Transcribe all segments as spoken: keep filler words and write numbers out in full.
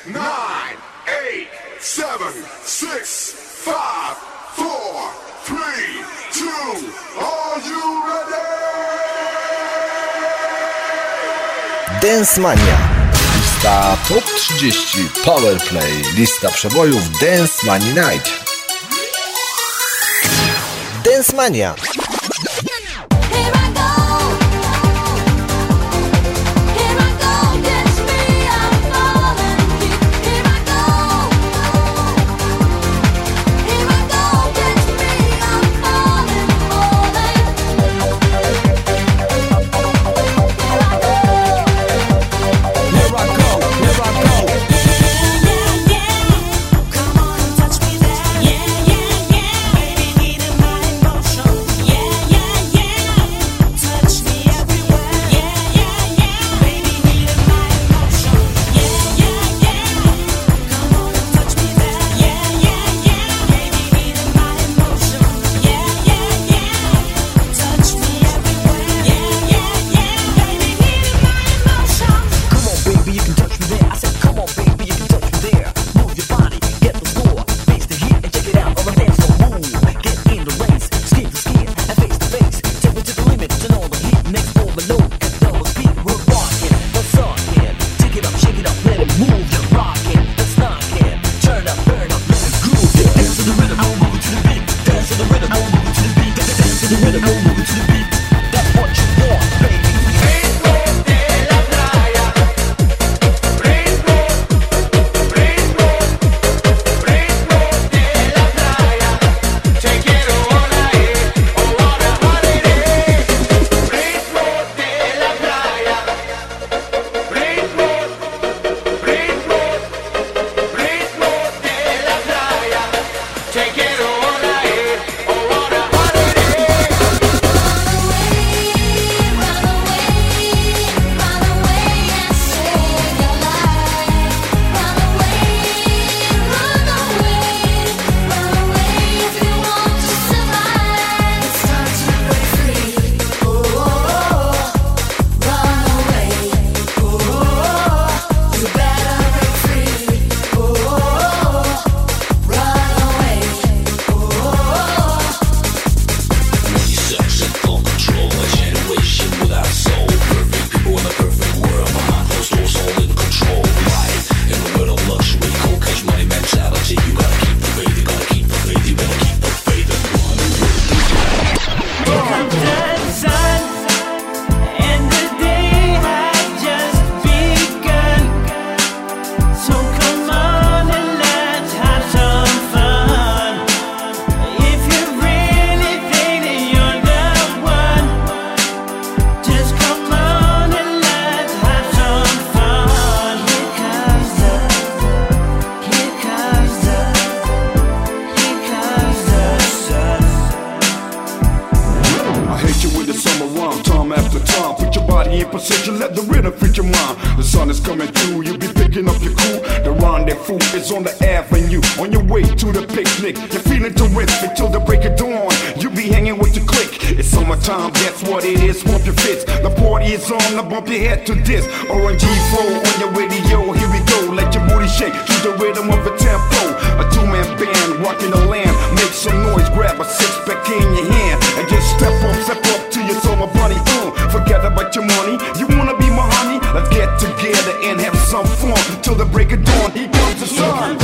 nine, eight, seven, six, five, four, three, two, are you ready? Dance Mania. Lista Top trzydzieści Powerplay. Lista przebojów Dance Money Night. Dance Mania. Bump your head to this O N G flow on your radio. Here we go, let your booty shake to the rhythm of a tempo. A two-man band walking the land. Make some noise, grab a six-pack in your hand and just step up, step up to your summer bunny. Uh, forget about your money, you wanna be my honey? Let's get together and have some fun till the break of dawn. Here comes the sun.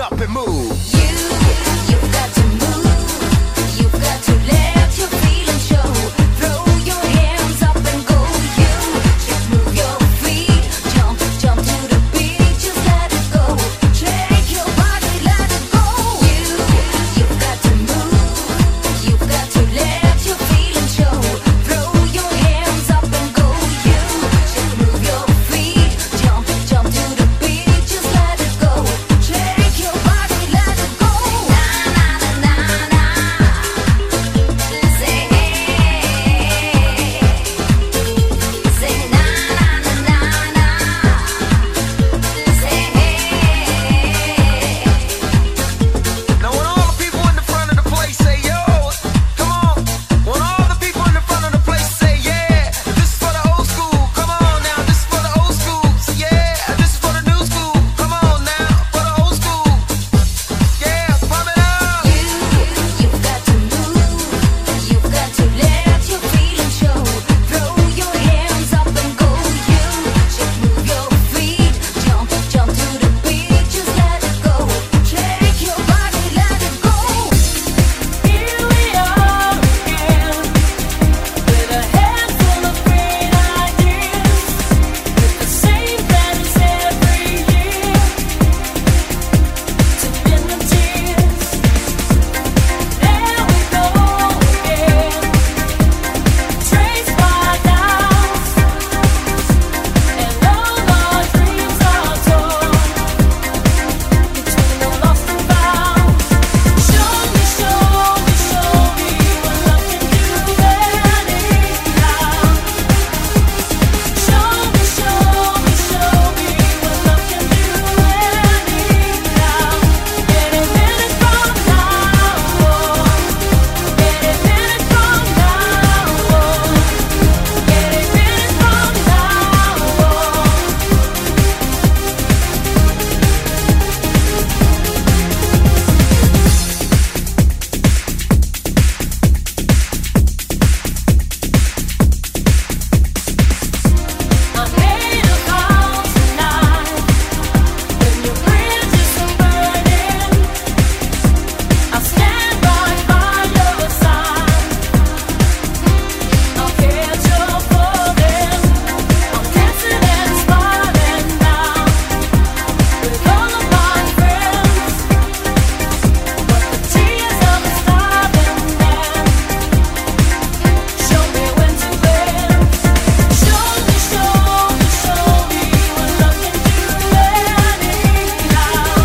up and move. You, you've got to move. You've got to let your feelings show. Throw your hands up and go. You just move your feet. Jump, jump to the beat. Just let it go. Shake your body, let it go. You, you've got to move. You've got to let your feelings show. Throw your hands up and go. You just move your feet. Jump, jump to the beat. Just let it go. Shake your body, let it go. Na na na na na. Say hey. Say na na na na na. Say hey. Now when all the people in the front of the place say yo, come on. When all the people in the front of the place say yeah, this is for the old school. Come on now, this is for the old school. Say yeah, this is for the new school. Come on now, for the old school. Yeah, pump it up. You, you've got to move. You've got to let your feelings show. Throw your hands up and go. You just move your feet. Jump, jump to the beat. Just let it go. Shake your body, let it go. Here we are again, with a head full of great ideas, with the same plans every year to end the tears. There we go again, traced by doubts, and all our dreams are torn between the lost and found. Show me, show me, show me what love can do anyhow. Show me, show me, show me what love can do anyhow. Any minute from now on, any minute from now on, any minute from I made a vow tonight. When your bridges are burning, I'll stand right by your side. I'll catch your falling. I'm dancing and smiling now with all of my friends. But the tears are stopping now. Show me when to bend. Show me, show me, show me what love can do anyhow.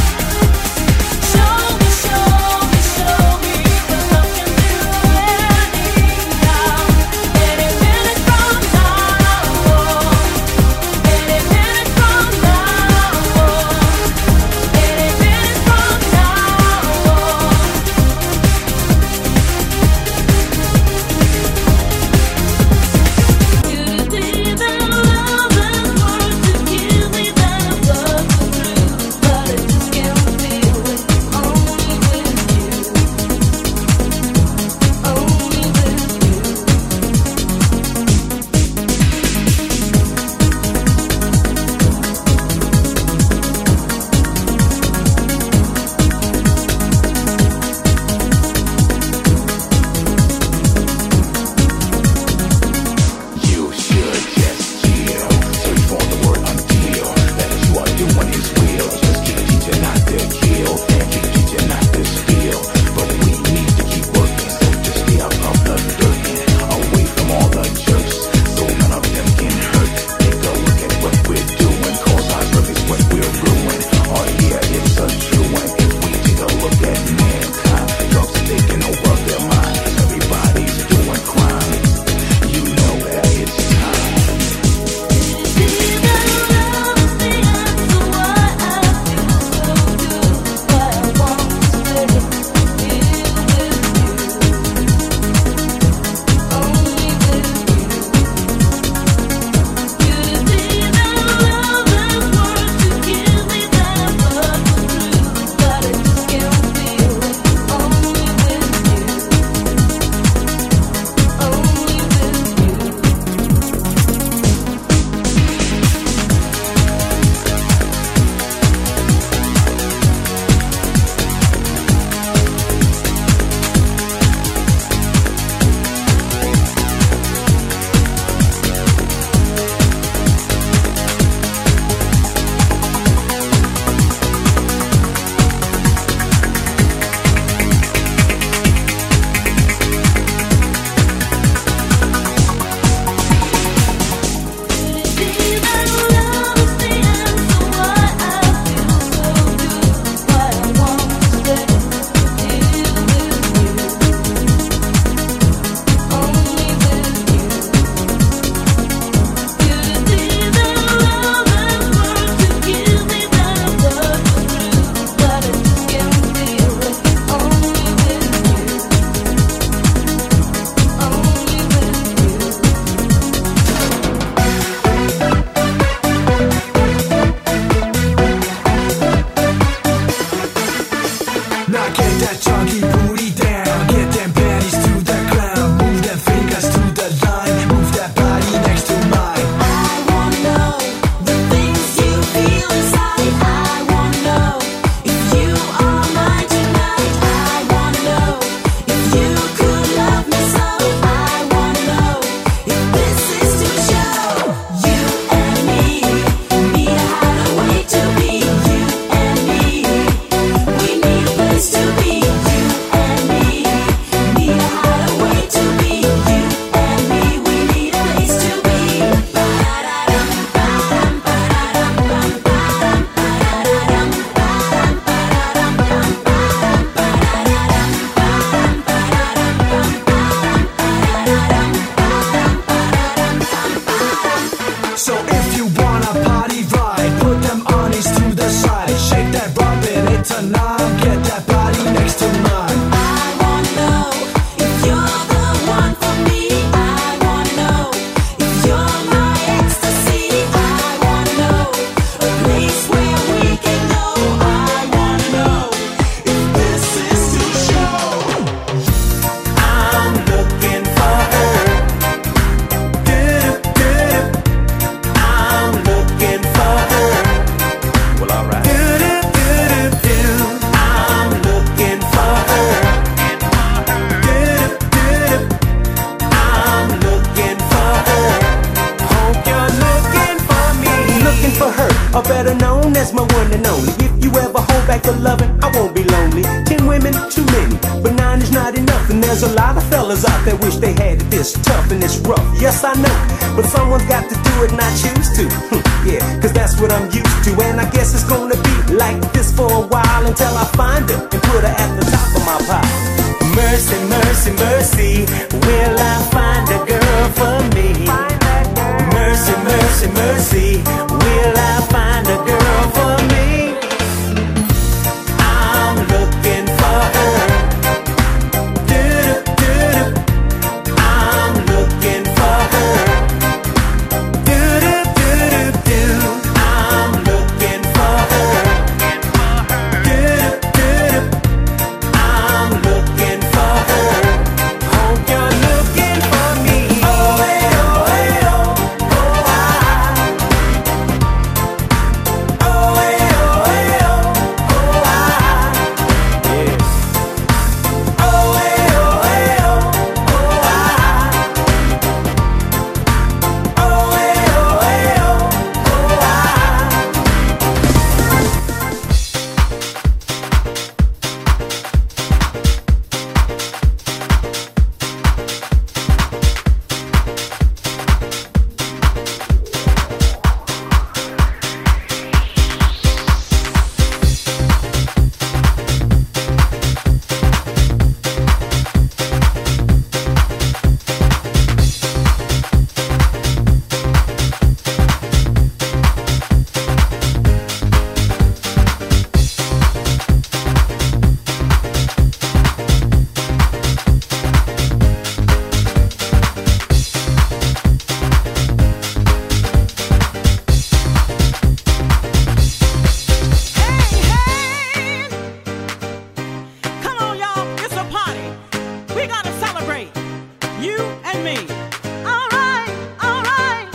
Show me, show me, show me what love can do anyhow. Any minute from now on, any minute from now on, any minute from now on. You believe in love and words to give me that love through, but I just can't feel it. Only with you, only with you. You should just chill. Search for the word until. That is what you want is real. Just keep teaching not to kill. And keep teaching not to steal. But we need to keep working. So just stay out of the dirt. Away from all the jerks. So none of them can hurt. Take a look at what we're doing. Cause our work is what we're ruining. Oh yeah, it's a true one. If we take a look at mankind, drugs are taking over their mind. Everybody's doing crime. You know that it's time. Believe in love is the answer. Why I feel so good, why I want loving, I won't be lonely. Ten women, too many, but nine is not enough. And there's a lot of fellas out there wish they had it this tough and this rough. Yes, I know, but someone's got to do it and I choose to. Yeah, cause that's what I'm used to. And I guess it's gonna be like this for a while until I find her and put her at the top of my pile. Mercy, mercy, mercy, will I find a girl for me? Mercy, mercy, mercy, will I find a girl for me? I'm looking for her. Do-do-do-do. I'm looking for her. Do-do-do-do-do. I'm looking for her. Do-do-do-do. I'm looking for her. Hope you're looking for me. Oh, hey, oh, hey, oh, oh, I. Oh, hey, oh, hey, oh, oh, I. Yeah. Oh, hey, oh, hey, oh, oh, I. Oh, hey, oh, hey, oh, oh, I. Come on, y'all, it's a party. We gotta celebrate. You and me. All right, all right.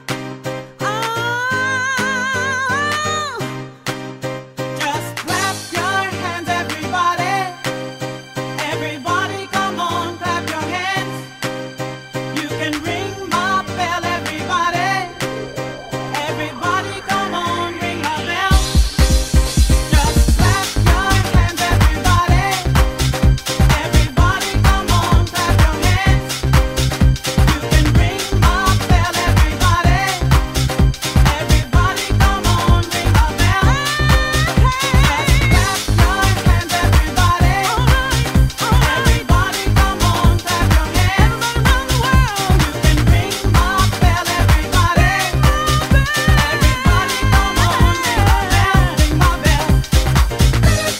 Oh, just clap your hands, everybody. Everybody, come on, clap your hands. You can ring my bell, everybody. Everybody, come on, ring my bell. Just clap your hands, everybody. Everybody, come on, clap your hands. You can ring my bell, everybody. Everybody, come on, ring my bell. Just clap your hands, everybody. Everybody, come on, clap your hands. Around the world, you can ring my bell, everybody. Everybody, come on, ring my bell, ring my bell.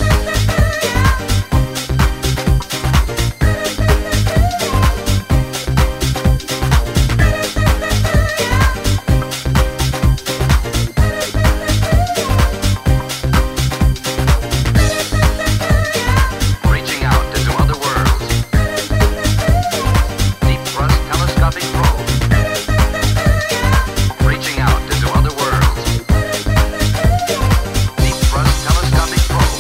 Reaching out into other worlds. Deep thrust telescopic probe. Reaching out into other worlds. Deep thrust telescopic probe.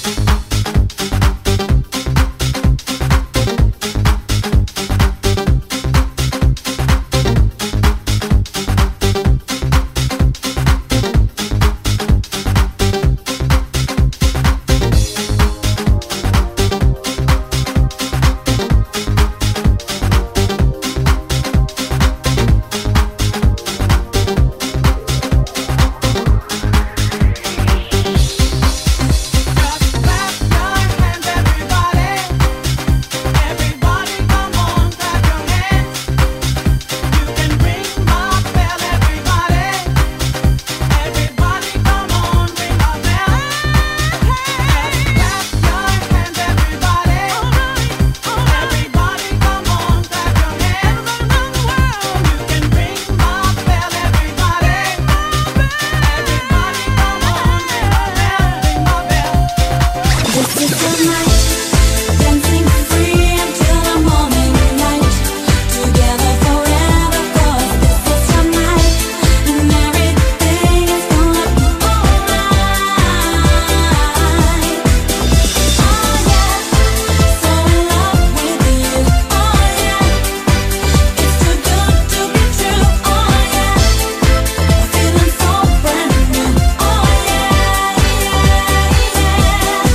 Just clap your hands, everybody. Everybody, come on, clap your hands. You can ring my bell, everybody. Everybody, come on, ring my bell. Just clap your hands, everybody. Everybody, come on, clap your hands. Around the world, you can ring my bell, everybody. Everybody, come on, ring my bell, ring my bell. This is the night, dancing free until the morning light. Together forever, 'cause this is your night, and everything is gonna be alright. Oh yeah, so in love with you. Oh yeah, it's too good to be true. Oh yeah, feeling so brand new. Oh yeah, yeah, yeah.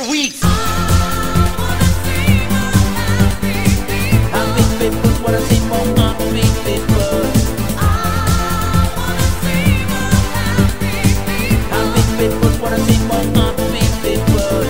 weeks. Happy people, what I see more happy people. Happy people, what I see more happy people.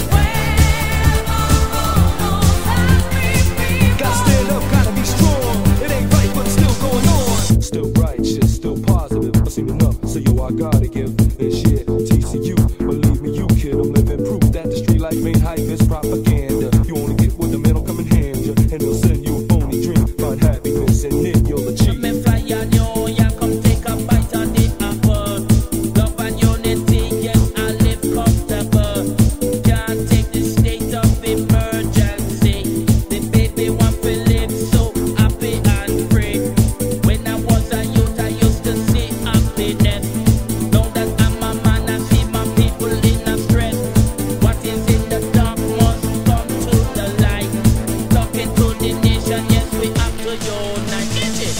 Gotta stand up, gotta be strong. It ain't right, but it's still going on. Still righteous, still positive. I seen enough, so yo, I gotta give and share. T C U, believe me, you kid, I'm living proof that the street life ain't hype, it's propaganda. You only get what the man will come and hand you, and they'll send you a phony dream. Find happiness in it, you'll achieve. Come and fly on you, yeah, come take a bite of the apple. Love and unity, yes, I live comfortable. Can't take the state of emergency. The baby want to live so happy and free. When I was a youth, I used to see happiness. Now that I'm a man, I see my people in a stress. What is in the dark must come to the light. Talking to the nation, yes, we have to unite. Is it?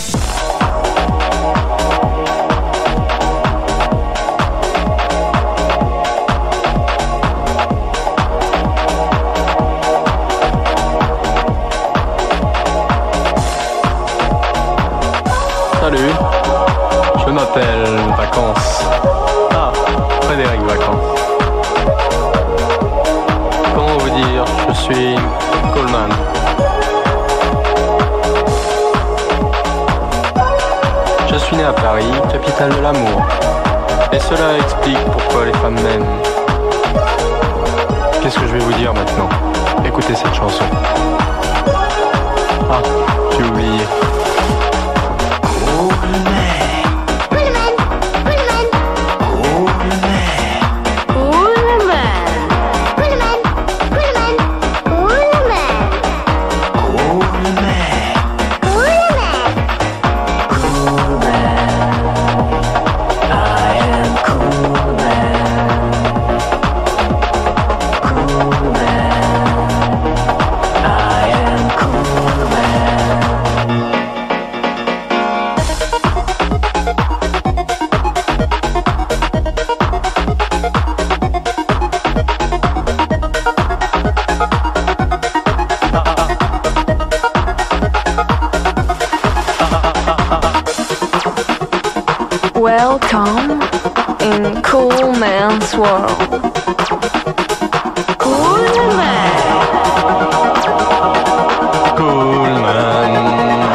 Salut, je m'appelle Vacances. Ah, Frédéric Vacances. Comment vous dire, je suis Coleman. Je suis né à Paris, capitale de l'amour. Et cela explique pourquoi les femmes m'aiment. Qu'est-ce que je vais vous dire maintenant? Écoutez cette chanson. Ah, j'ai oublié. Welcome in Cool Man's World. Cool Man. Cool man.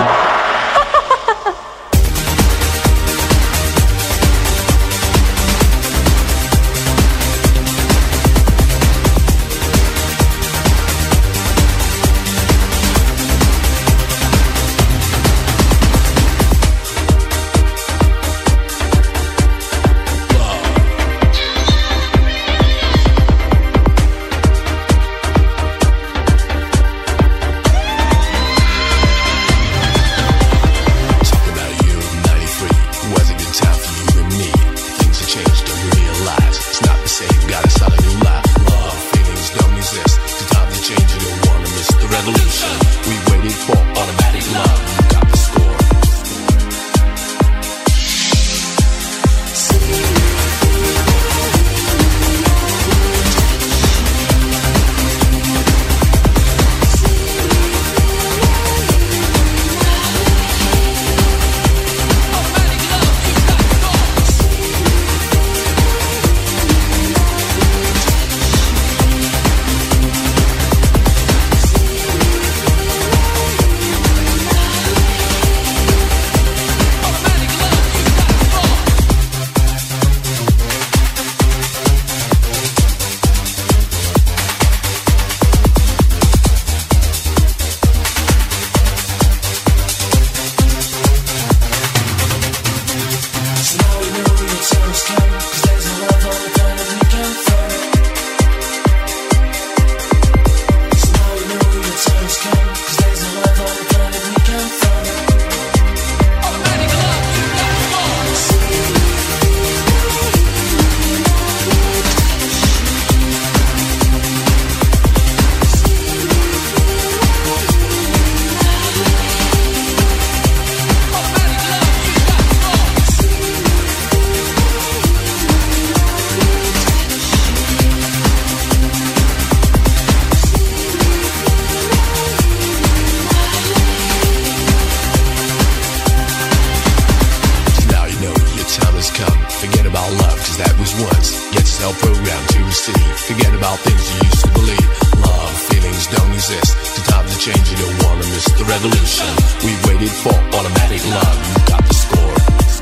things you used to believe. Love, feelings don't exist. The time to change, you don't wanna miss the revolution. We waited for automatic love. You got the score.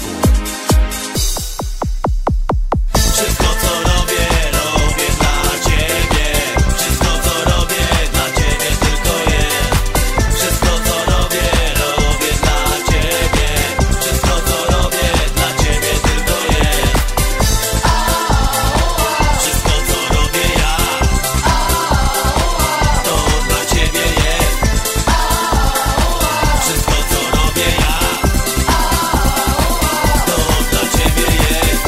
Wszystko co robię, robię dla ciebie. Wszystko co robię, dla ciebie tylko jest. Wszystko co robię, robię dla ciebie. Wszystko co robię, dla ciebie tylko jest. Wszystko co robię ja, to dla ciebie jest. Wszystko co robię ja, to dla ciebie jest.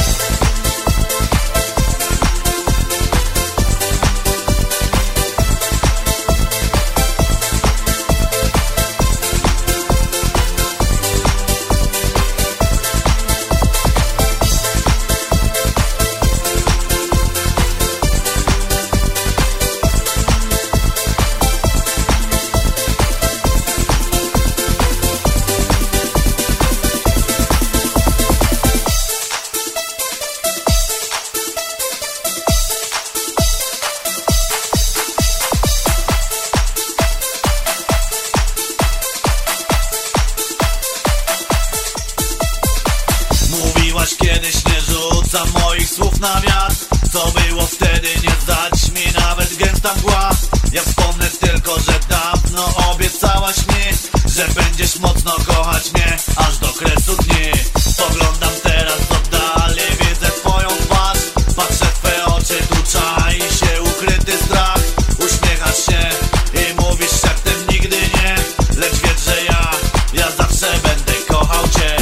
Mówiłaś kiedyś, nie rzucam moich słów na wiatr. Co było wtedy, nie zdać mi nawet gęsta mgła. Ja wspomnę tylko, że dawno obiecałaś mi, że będziesz mocno kochać mnie, aż do kresu dni. Spoglądam teraz oddali, widzę twoją twarz. Patrzę w twoje oczy, tu czai się ukryty strach. Uśmiechasz się i mówisz szeptem nigdy nie. Lecz wiedz, że ja, ja zawsze będę kochał cię.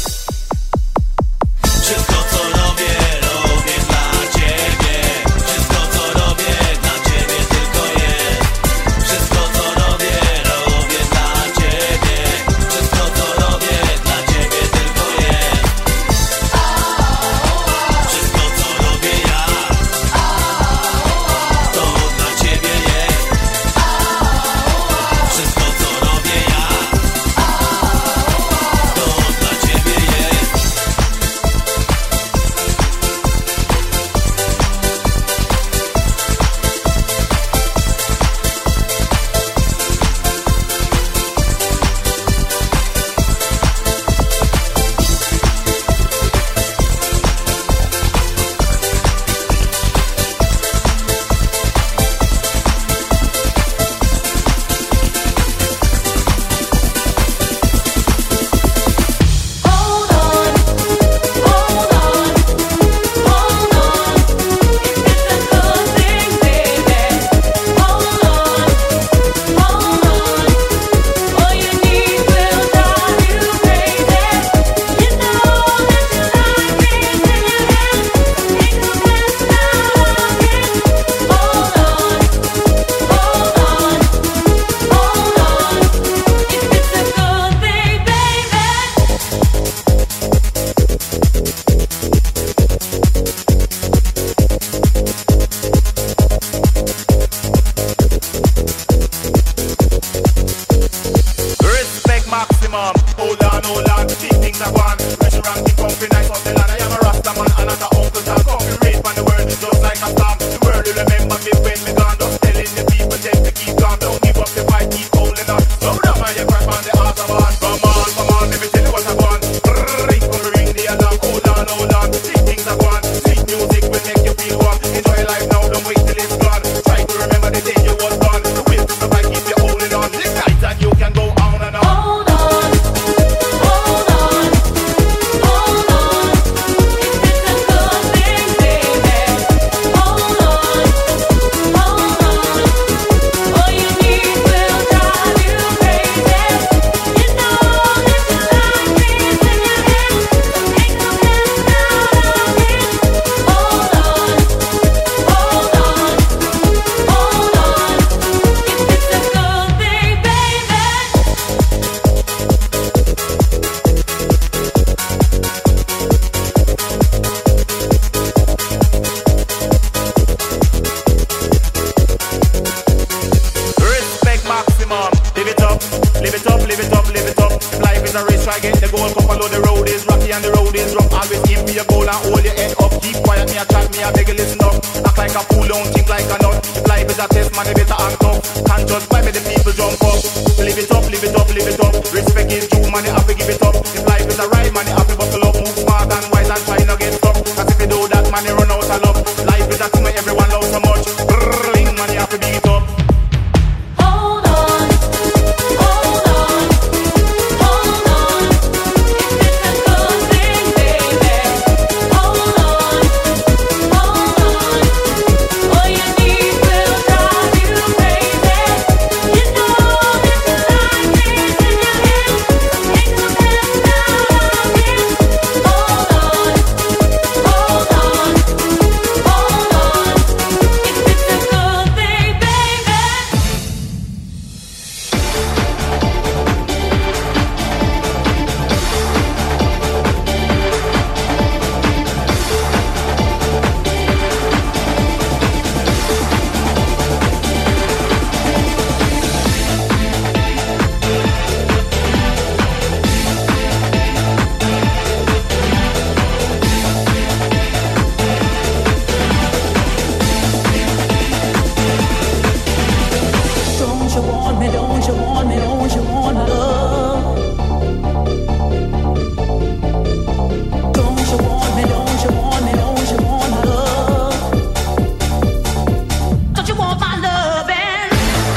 Wszystko co robię, robię dla ciebie. Wszystko co robię, dla ciebie tylko jest. Wszystko co robię, robię dla ciebie. Wszystko co robię, dla ciebie tylko jest. Wszystko co robię ja, to dla ciebie jest. Wszystko co robię ja, to dla ciebie jest. Hold on, hold on, hold on. It's a good thing, baby. Hold on, hold on. All you need will drive you crazy. You know that you like me till your head ain't no mess out of it. Hold on, hold on, hold on. If it's a good thing, baby. Respect maximum. Hold on, hold on. Big things are gone. Pressure ranking, comfy, nice on the land. I am a Rasta man and not a Uncle Tom. Comfy, raised on the world, just like a storm. The world will remember me when me gone. Just telling the people, tell to keep calm. Don't give up the fight, keep holding on. Slow down, man, you crash on the Autobahn. Come on, come on, let me tell you what I want. Brrrr, it's gonna ring the alarm. Hold on, hold on. Big things are gone. Sweet music will make you feel warm. Enjoy life now, don't wait till it's gone. Try to remember the day you was born. The will to survive, keep you holding on. This night and you can go on and on. Hold on, hold on, hold on. If it's a good thing, baby. Hold on, hold on. All you need will drive you crazy. You know that you like me till your head ain't no mess out of it. Hold on, hold on, hold on. If it's a good thing, baby. Respect maximum. Live it up, live it up, live it up, live it up. If life is a race, try get the goal. Come follow the road is rocky and the road is rough. Always aim for your goal and hold your head up. Keep quiet, me a chat, me a beg you listen up. Act like a fool, don't think like a nut. If life is a test, man, you better act up. Can't just buy me the people jump up. Live it up, live it up, live it up. Respect is due, man, you have to give it up. If life is a ride, man, you have to buckle up. Move smart and wise and try not get stuck. Cause if you do that, man, you run out of luck. Life is a thing where everyone loves so much. Brrrr, man, you have to beat it up. Hold on, hold on, hold on. If it's a good thing, baby. Hold on, hold on. All you need will drive you crazy. You know this life is in your hands. Make the best out of it. Hold on, hold on, hold on. If it's a good thing, baby. Don't you want me, don't you want me, don't you want love? Don't you want me, don't you want me, don't you want love? Don't you want my loving?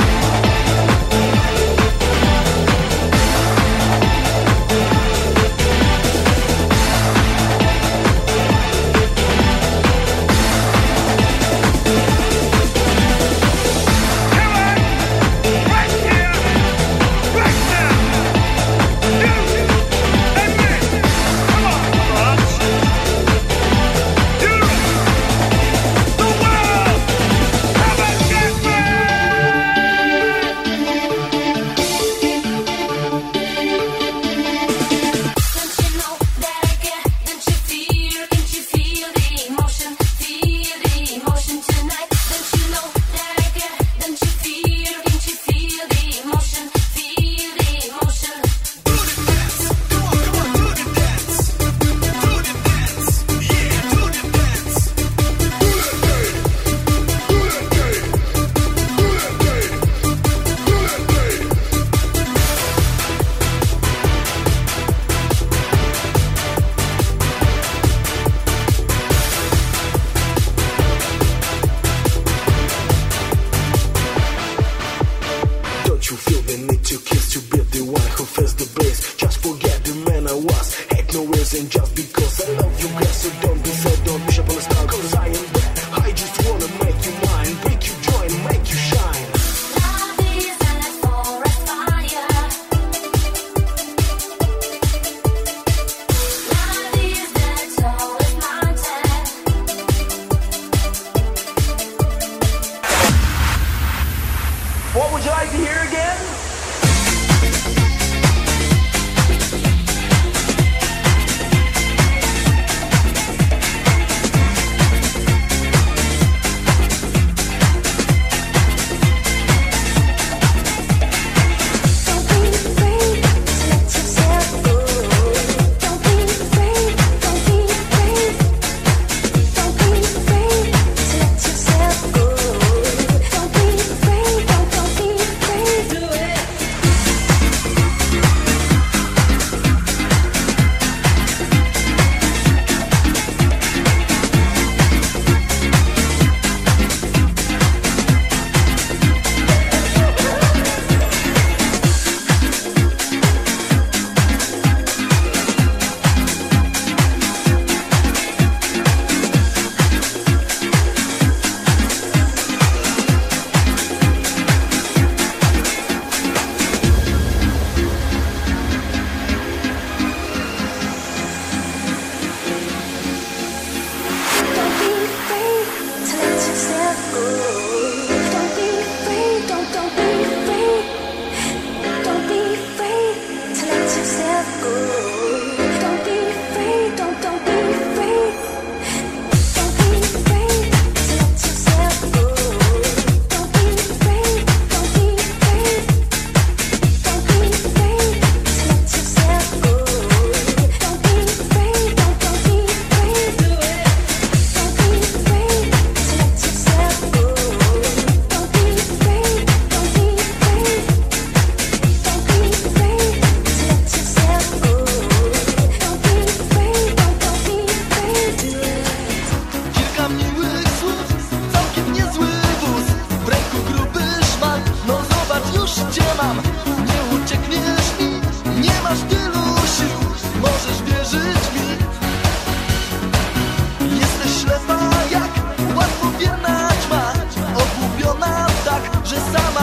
Don't you know that I get? Don't you feel? Don't you feel the emotion? Feel the emotion tonight. Don't you know that I get? Don't you feel? Don't you feel the emotion? Feel the emotion. Don't you feel the need to kiss to be the one who feels the bass? Just forget the man I was. Hate no reason just because I love you, girl. So don't be sad, don't wish upon a star. Cause I am bad. I just wanna make you mine, break you joy, make you shine. Love is a forest fire. Love is the tallest mountain. What would you like to hear again? Don't be afraid to let yourself go. Don't be afraid, don't be afraid. Don't be afraid to let yourself go. Don't be afraid, don't, don't be afraid.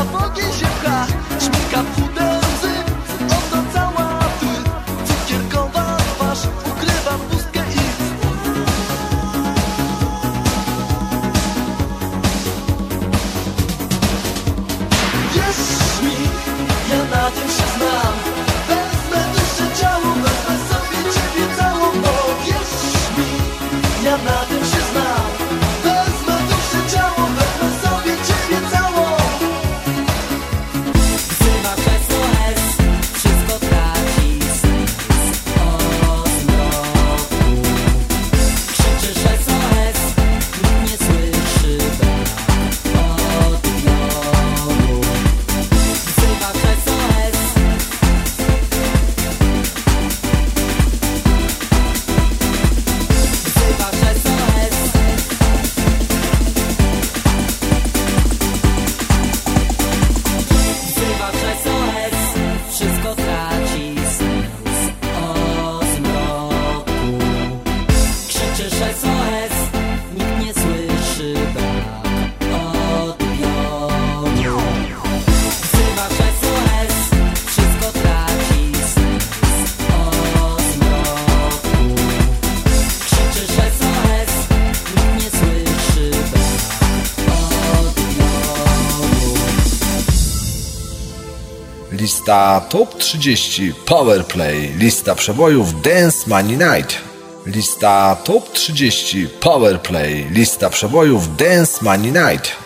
na bogi się pcha, szminka puder łzy, oto cała ty, cukierkowa twarz ukrywa pustkę i wierz mi, ja na tym się znam. Wezmę duszę ciało, wezmę sobie ciebie całą, bo wierz mi, ja na tym się znam. Wezmę duszę ciało, wezmę sobie ciebie całą. Wzywa S O S, wszystko traci sens o zmroku. Krzyczysz S O S, nikt nie słyszy brak odbioru. Wzywasz S O S, wzywasz S O S. Wzywasz S O S, wszystko traci sens o zmroku. Krzyczysz S O S, nikt nie słyszy brak odbioru. Wzywasz S O S, wszystko traci sens o zmroku. Krzyczysz S O S, nikt nie słyszy brak odbioru. Lista Top trzydzieści Powerplay. Lista przebojów Dance Money Night. Lista Top trzydzieści Powerplay. Lista przebojów Dance Money Night.